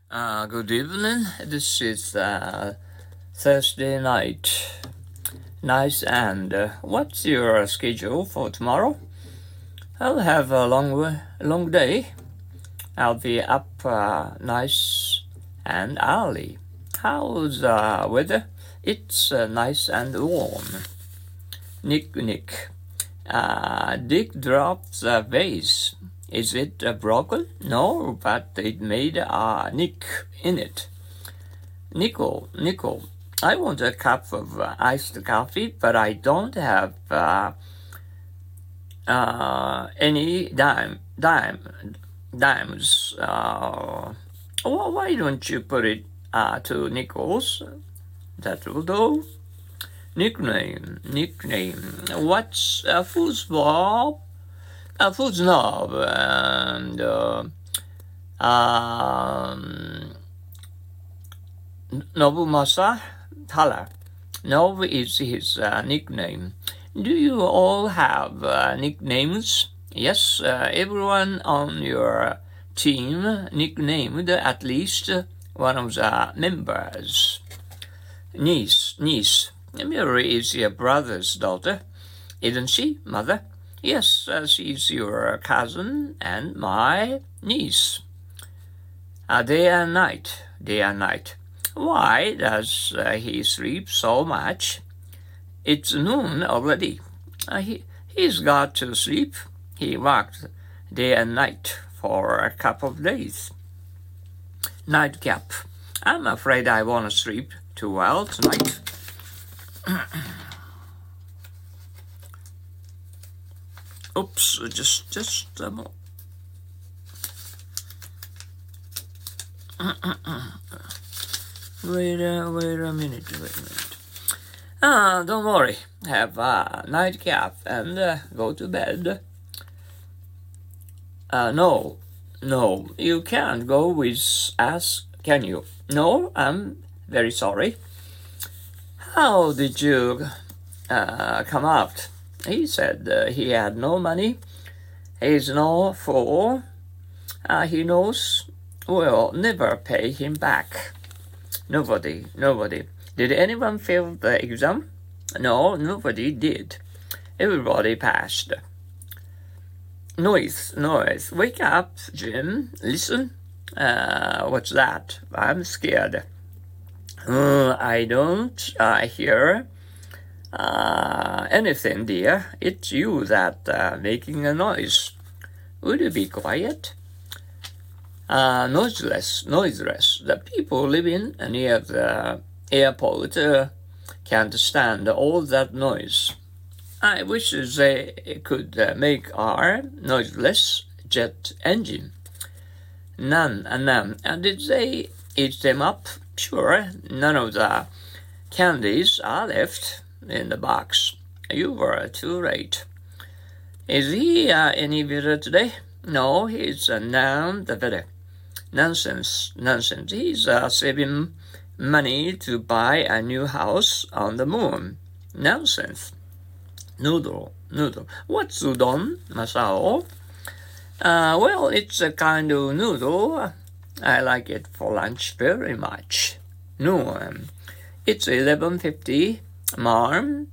Good evening. This is Thursday night. Nice. And what's your schedule for tomorrow? I'll have a long day. I'll be up nice and early. How's the weather? It's nice and warm. Nick. Dick dropped the vase. Is it broken? No, but it made a nick in it. Nickel, I want a cup of iced coffee, but I don't have any dimes. Why don't you put it to nickels? That will do. Nickname. What's a foosball? A foosnob and Nobumasa Hala. Nob is his nickname. Do you all have nicknames? Yes, everyone on your team nicknamed at least one of the members. Niece. Mary is your brother's daughter, isn't she, Mother? Yes, she's your cousin and my niece. Day and night. Why does he sleep so much? It's noon already. He's got to sleep. He worked day and night for a couple of days. Nightcap. I'm afraid I won't sleep too well tonight. Oops, just a moment. Wait a minute. Don't worry. Have a nightcap and go to bed. No, you can't go with us, can you? No, I'm very sorry. How did you come out? He said he had no money. He's no fool. He knows we'll never pay him back. Nobody. Did anyone fail the exam? No, nobody did. Everybody passed. Noise. Wake up, Jim. Listen. What's that? I'm scared. I don't hear anything, dear. It's you that making a noise. Would you be quiet? Noiseless. The people living near the airport can't stand all that noise. I wish they could make our noiseless jet engine. None. And did they eat them up? Sure, none of the candies are left in the box. You were too late. Is he any better today? No, he's none the better. Nonsense. He's saving money to buy a new house on the moon. Nonsense. Noodle. What's udon, Masao? Well, it's a kind of noodle. I like it for lunch very much. Noon. It's 11:50. Mom,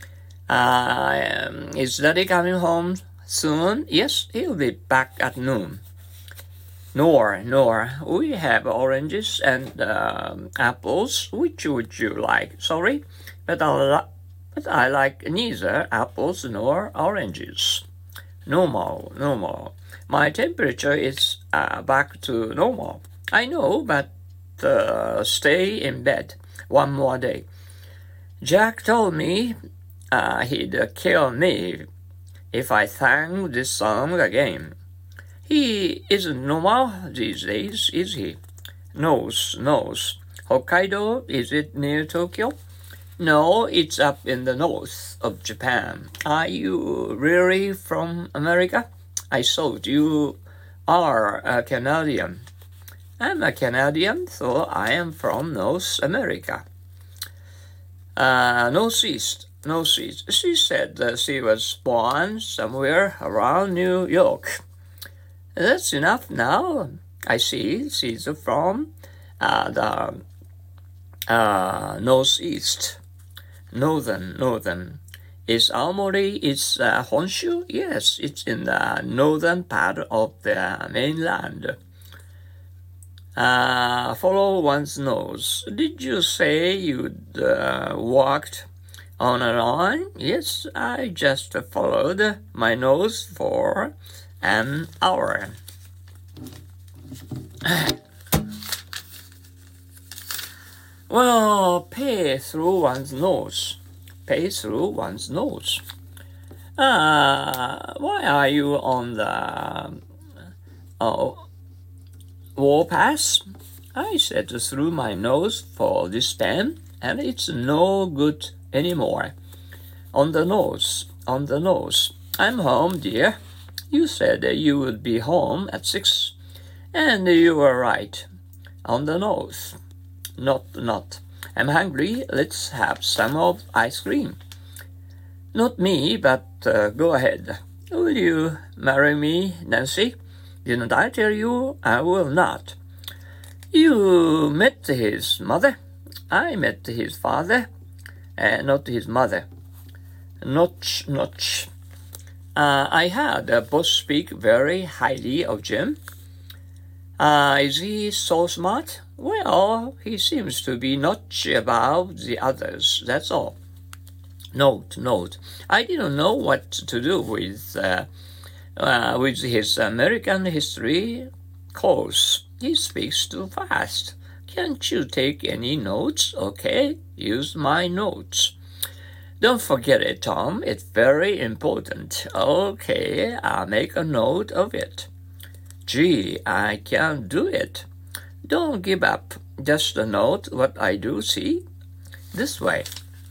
is Daddy coming home soon? Yes, he'll be back at noon. Nor. We have oranges and apples. Which would you like? Sorry, but I like neither apples nor oranges. Normal. My temperature is back to normal. I know, but stay in bed one more day. Jack told me he'd kill me if I sang this song again. He isn't normal these days, is he? Nose. Hokkaido, is it near Tokyo? No, it's up in the north of Japan. Are you really from America? I thought you are a Canadian. I'm a Canadian, so I am from North America. Northeast. She said that she was born somewhere around New York. That's enough now. I see. She's from the northeast, northern. Is Aomori, is Honshu? Yes, it's in the northern part of the mainland. Follow one's nose. Did you say you'd walked on a line? Yes, I just followed my nose for an hour. Well, pay through one's nose. Pay through one's nose. Why are you on the warpath? I said through my nose for this pen, and it's no good anymore. On the nose, on the nose. I'm home, dear. You said you would be home at 6, and you were right. On the nose. Not. I'm hungry. Let's have some of ice cream. Not me, but go ahead. Will you marry me, Nancy? Didn't I tell you I will not? You met his mother. I met his father, not his mother. Notch. I heard both speak very highly of Jim. Is he so smart? Well, he seems to be notch above the others, that's all. Note. I didn't know what to do with his American history course. He speaks too fast. Can't you take any notes? Okay, use my notes. Don't forget it, Tom. It's very important. Okay, I'll make a note of it. Gee, I can't do it. Don't give up. Just note what I do, see? This way.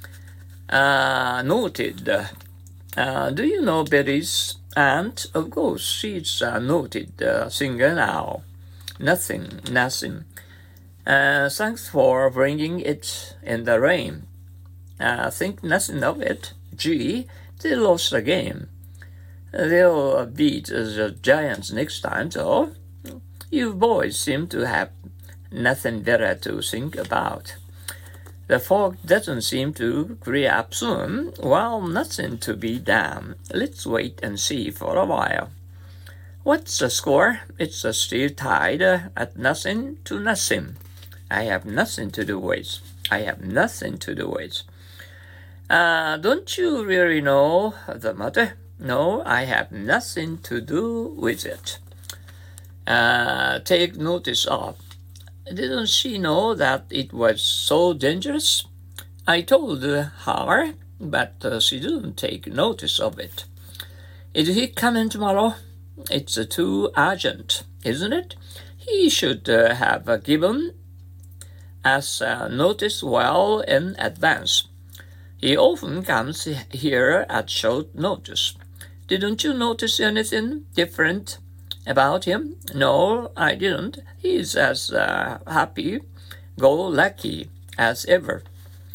Noted. Do you know Betty's aunt? Of course, she's a noted singer now. Nothing. Thanks for bringing it in the rain. Think nothing of it. Gee, they lost the game. They'll beat the Giants next time, though. You boys seem to have nothing better to think about. The fog doesn't seem to clear up soon. Well, nothing to be done. Let's wait and see for a while. What's the score? It's still tied at 0-0. I have nothing to do with. Don't you really know the matter? No, I have nothing to do with it. Take notice of. Didn't she know that it was so dangerous? I told her, but she didn't take notice of it. Is he coming tomorrow? It's too urgent, isn't it? He should have given us notice well in advance. He often comes here at short notice. Didn't you notice anything different about him? No, I didn't. He's as happy-go-lucky as ever.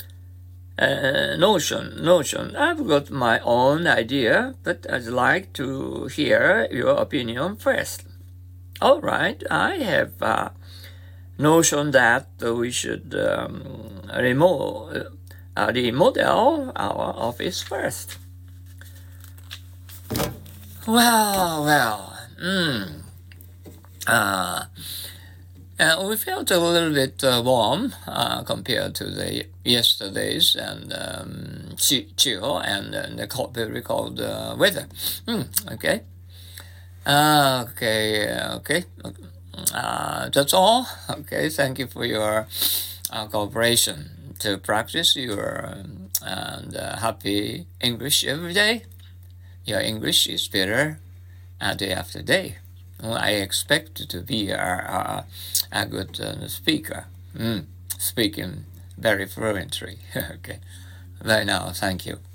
Notion. I've got my own idea, but I'd like to hear your opinion first. All right, I have a notion that we should remodel our office first. Well. We felt a little bit warm compared to the yesterday's and chill and the very cold weather. Okay. That's all. Okay, thank you for your cooperation to practice your happy English every day. Your English is better day after day. Well, I expect to be a good speaker, speaking very fluently. Okay, bye now. Thank you.